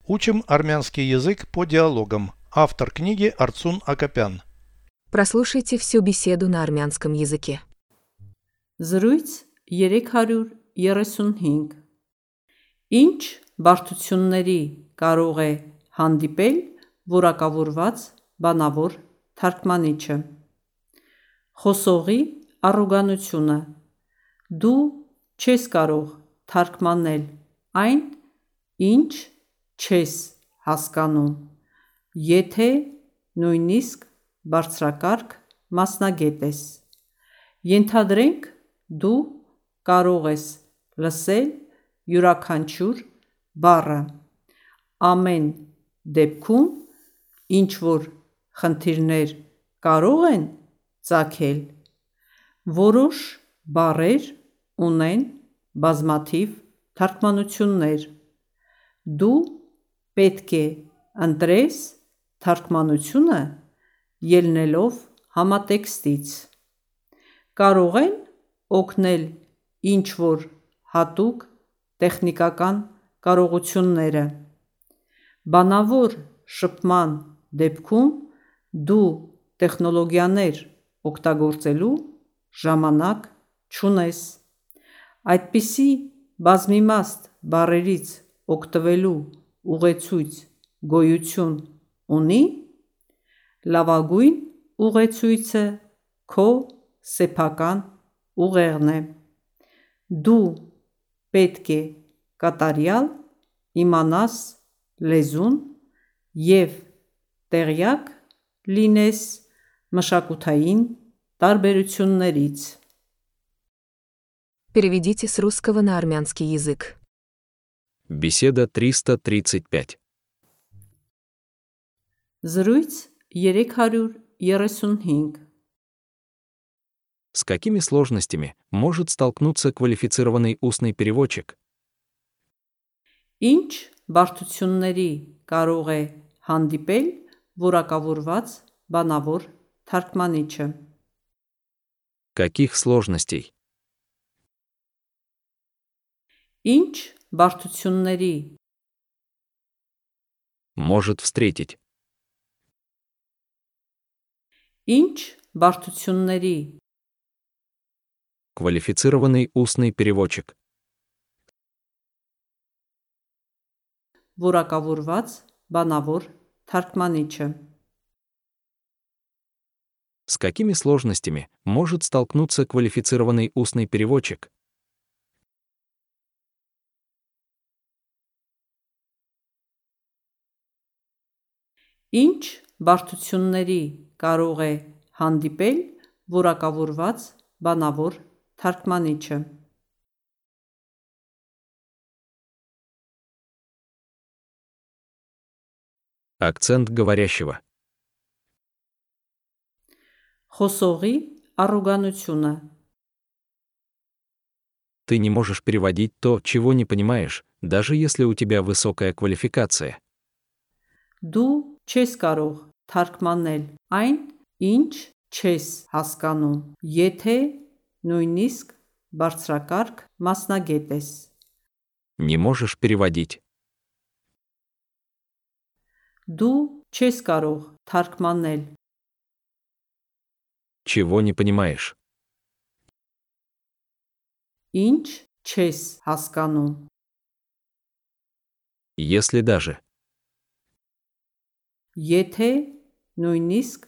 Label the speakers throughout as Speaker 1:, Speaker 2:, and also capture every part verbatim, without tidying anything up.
Speaker 1: Учим армянский язык по диалогам. Автор книги Арцун Акопян.
Speaker 2: Прослушайте всю беседу на армянском языке.
Speaker 3: Զրույց երեք հարյուր երեսունհինգ Ինչ բարդությունների կարող է հանդիպել որակավորված բանավոր թարգմանիչը։ Խոսողի առոգանությունը. Դու չես կարող թարգմանել այն, ինչ չես հասկանում, եթե նույնիսկ բարձրակարգ մասնագետ ես։ Ենթադրենք, դու կարող ես լսել յուրաքանչյուր բառը։ Ամեն դեպքում ինչ-որ խնդիրներ կարող են ծագել։ Որոշ բառեր ունեն բազմաթիվ թարգմանություններ։ Դու պետք է ընտրես թարգմանությունը ելնելով համատեքստից։ Կարող են օգնել ինչ-որ հատուկ տեխնիկական կարողությունները։ Բանավոր շփման դեպքում դու տեխնոլոգիաներ օգտագործելու ժամանակ չունես։ Այդպիսի բազմիմաստ բառերից օգտվելու ուղեցույց գոյություն ունի՞։ Լավագույն ուղեցույցը քո սեփական ուղեղն է։ Դու պետք է կատարյալ իմանաս լեզուն և տեղյակ լինես մշակութային տարբերություններից։
Speaker 2: Переведите с русского на армянский язык.
Speaker 4: Беседа триста тридцать пять.
Speaker 3: Զրույց երեք հարյուր երեսունհինգ
Speaker 4: С какими сложностями может столкнуться квалифицированный устный переводчик?
Speaker 3: Ինչ բարդությունների կարող է հանդիպել որակավորված բանավոր թարգմանիչը։
Speaker 4: Каких сложностей?
Speaker 3: Ինչ բարդությունների
Speaker 4: Может встретить?
Speaker 3: Ինչ բարդությունների
Speaker 4: Квалифицированный устный переводчик.
Speaker 3: որակավորված բանավոր թարգմանիչը։
Speaker 4: С какими сложностями может столкнуться квалифицированный устный переводчик?
Speaker 3: Ինչ բարդությունների կարող է հանդիպել որակավորված բանավոր թարգմանիչը։
Speaker 4: Акцент говорящего.
Speaker 3: Խոսողի առոգանությունը.
Speaker 4: Ты не можешь переводить то, чего не понимаешь, даже если у тебя высокая квалификация.
Speaker 3: Դու չես կարող թարգմանել այն, ինչ չես հասկանում, եթե նույնիսկ բարձրակարգ մասնագետ ես։
Speaker 4: Не можешь переводить.
Speaker 3: Դու չես կարող թարգմանել
Speaker 4: Чего не понимаешь?
Speaker 3: ինչ չես հասկանում,
Speaker 4: Если даже.
Speaker 3: եթե նույնիսկ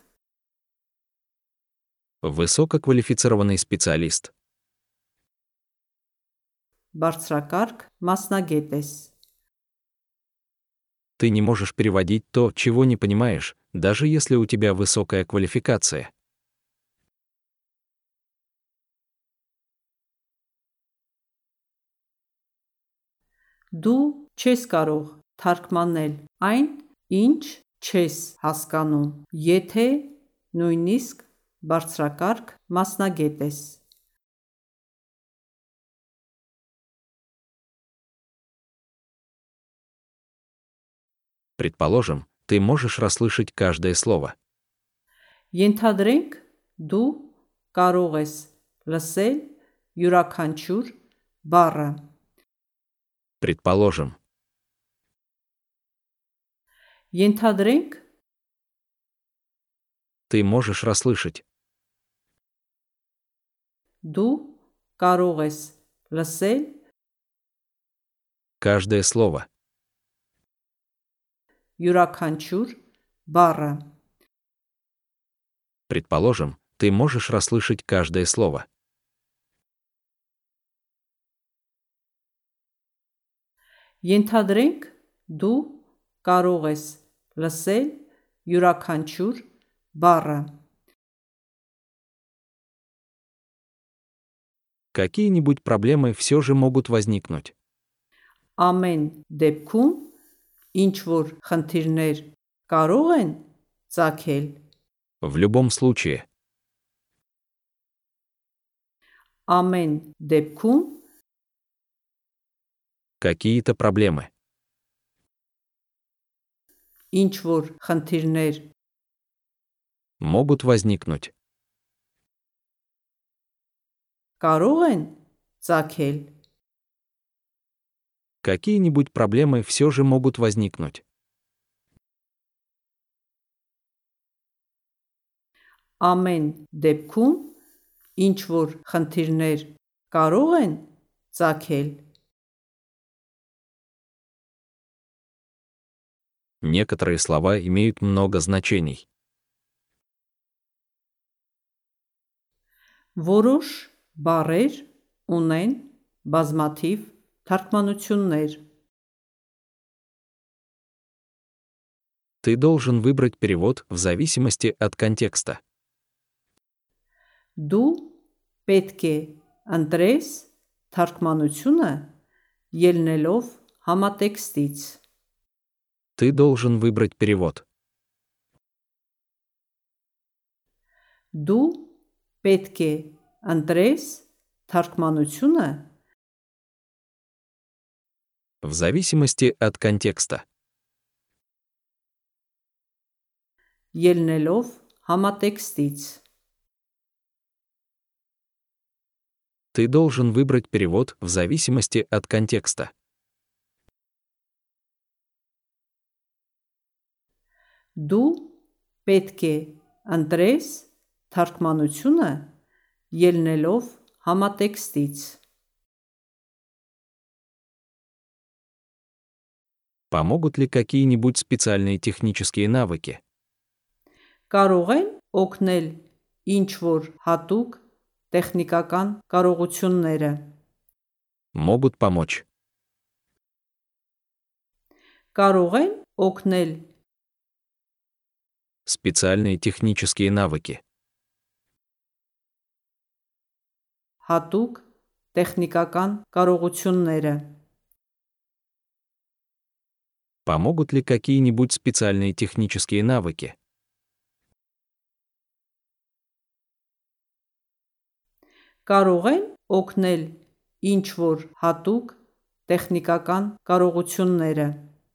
Speaker 4: Высококвалифицированный специалист.
Speaker 3: բարձրակարգ մասնագետ ես։
Speaker 4: Ты не можешь переводить то, чего не понимаешь, даже если у тебя высокая квалификация.
Speaker 3: Դու չես կարող թարգմանել այն, ինչ չես հասկանում, եթե նույնիսկ բարձրակարգ մասնագետ ես։
Speaker 4: Предположим, ты можешь расслышать каждое слово.
Speaker 3: Ենթադրենք, դու կարող ես լսել յուրաքանչյուր բառը։
Speaker 4: Предположим.
Speaker 3: Ենթադրենք,
Speaker 4: Ты можешь расслышать.
Speaker 3: դու կարող ես լսել
Speaker 4: Каждое слово.
Speaker 3: յուրաքանչյուր բառը։
Speaker 4: Предположим, ты можешь расслышать каждое слово.
Speaker 3: Ենթադրենք, դու կարող ես լսել յուրաքանչյուր բառը։
Speaker 4: Какие-нибудь проблемы все же могут возникнуть.
Speaker 3: Ամեն դեպքում ինչ որ խնդիրներ կարող են ծագել,
Speaker 4: В любом случае.
Speaker 3: ամեն դեպքում
Speaker 4: Какие-то проблемы.
Speaker 3: ինչ որ խնդիրներ
Speaker 4: Могут возникнуть.
Speaker 3: կարող են ծագել,
Speaker 4: Какие-нибудь проблемы все же могут возникнуть.
Speaker 3: ամեն դեպքում ինչ որ խնդիրներ կարող են ծագել,
Speaker 4: Некоторые слова имеют много значений.
Speaker 3: որոշ բառեր ունեն բազմաթիվ թարգմանություններ։
Speaker 4: Ты должен выбрать перевод в зависимости от контекста.
Speaker 3: Դու պետք է ընտրես թարգմանությունը ելնելով համատեքստից։
Speaker 4: Ты должен выбрать перевод.
Speaker 3: Դու պետք է ընտրես թարգմանությունը
Speaker 4: В зависимости от контекста.
Speaker 3: ելնելով համատեքստից։
Speaker 4: Ты должен выбрать перевод в зависимости от контекста.
Speaker 3: Դու պետք է ընտրես թարգմանությունը ելնելով համատեքստից։
Speaker 4: Помогут ли какие-нибудь специальные технические навыки?
Speaker 3: Կարող են օգնել ինչ որ հատուկ տեխնիկական կարողությունները։
Speaker 4: Могут помочь.
Speaker 3: Կարող են օգնել
Speaker 4: Специальные технические навыки.
Speaker 3: հատուկ տեխնիկական կարողությունները։
Speaker 4: Помогут ли какие-нибудь специальные технические навыки?
Speaker 3: Կարող են օգնել ինչ որ հատուկ տեխնիկական կարողությունները։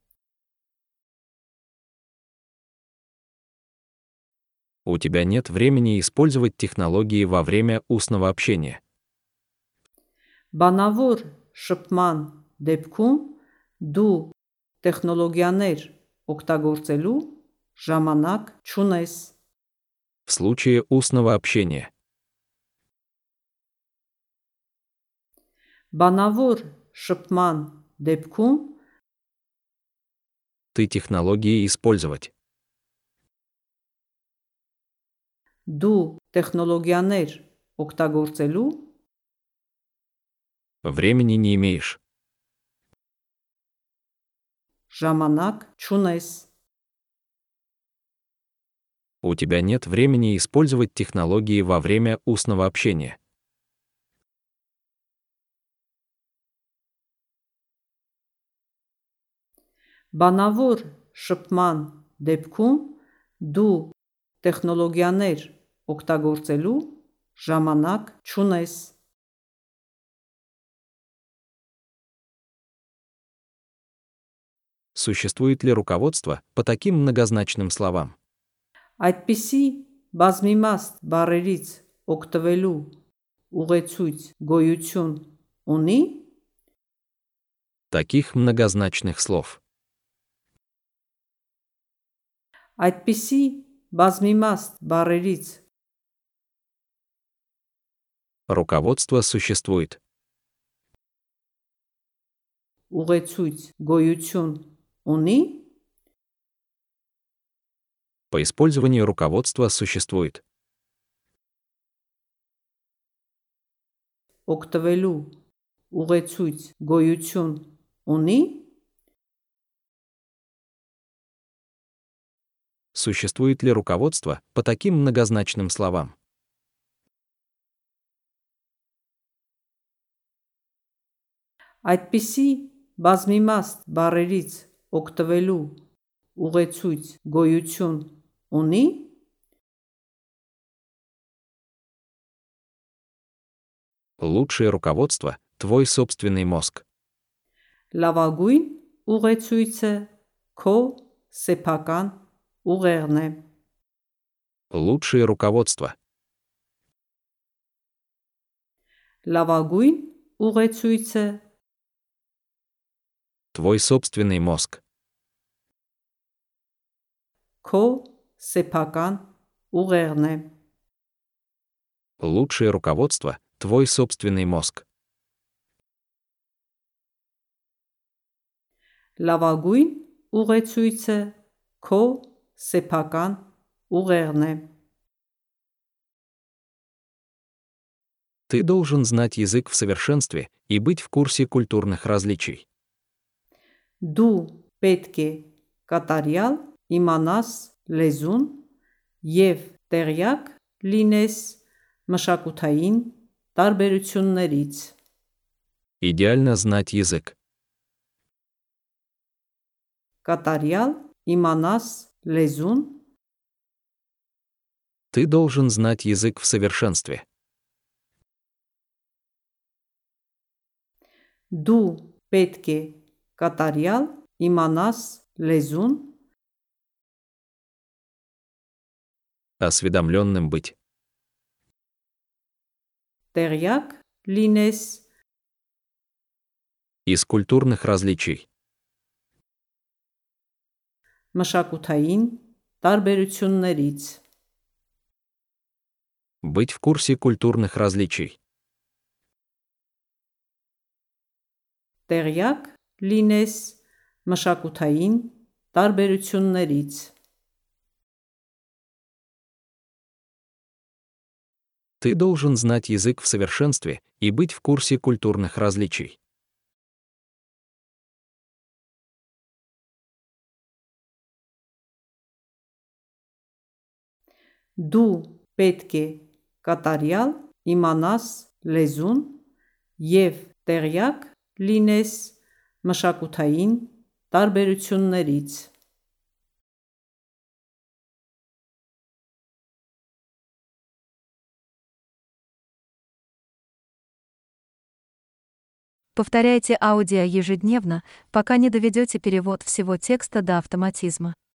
Speaker 4: У тебя нет времени использовать технологии во время устного общения.
Speaker 3: Բանավոր շփման դեպքում դու տեխնոլոգիաներ օգտագործելու ժամանակ չունես։
Speaker 4: В случае устного общения.
Speaker 3: Բանավոր շփման դեպքում
Speaker 4: Ты технологии использовать.
Speaker 3: դու տեխնոլոգիաներ օգտագործելու
Speaker 4: Времени не имеешь.
Speaker 3: ժամանակ չունես։
Speaker 4: У тебя нет времени использовать технологии во время устного общения.
Speaker 3: Բանավոր շփման դեպքում դու տեխնոլոգիաներ օգտագործելու ժամանակ չունես։
Speaker 4: Существует ли руководство по таким многозначным словам?
Speaker 3: Այդպիսի բազմիմաստ բառերից օգտվելու ուղեցույց գոյություն ունի։
Speaker 4: Таких многозначных слов.
Speaker 3: Այդպիսի բազմիմաստ բառերից
Speaker 4: Руководство существует.
Speaker 3: ուղեցույց գոյություն ունի,
Speaker 4: По использованию руководства существует.
Speaker 3: օգտվելու ուղեցույց գոյություն ունի,
Speaker 4: Существует ли руководство по таким многозначным словам?
Speaker 3: այդպիսի բազմիմաստ բառերից օգտվելու ուղեցույց գոյություն ունի,
Speaker 4: Лучшее руководство — твой собственный мозг.
Speaker 3: լավագույն ուղեցույցը քո սեփական ուղեղն է,
Speaker 4: Лучшее руководство.
Speaker 3: լավագույն ուղեցույցը
Speaker 4: Твой собственный мозг.
Speaker 3: քո սեփական ուղեղն է,
Speaker 4: Лучшее руководство — твой собственный мозг.
Speaker 3: լավագույն ուղեցույցը քո սեփական ուղեղն է,
Speaker 4: Ты должен знать язык в совершенстве и быть в курсе культурных различий.
Speaker 3: դու պետք է կատարյալ իմանաս լեզուն և տեղյակ լինես մշակութային տարբերություններից,
Speaker 4: Идеально знать язык.
Speaker 3: կատարյալ իմանաս լեզուն
Speaker 4: Ты должен знать язык в совершенстве.
Speaker 3: դու պետք է կատարյալ իմանաս լեզուն
Speaker 4: Осведомленным быть.
Speaker 3: տեղյակ լինես
Speaker 4: Из культурных различий.
Speaker 3: մշակութային տարբերություններից,
Speaker 4: Быть в курсе культурных различий.
Speaker 3: տեղյակ լինես մշակութային տարբերություններից,
Speaker 4: Ты должен знать язык в совершенстве и быть в курсе культурных различий.
Speaker 3: դու պետք է կատարյալ իմանաս լեզուն և տեղյակ լինես մշակութային տարբերություններից,
Speaker 5: Повторяйте аудио ежедневно, пока не доведете перевод всего текста до автоматизма.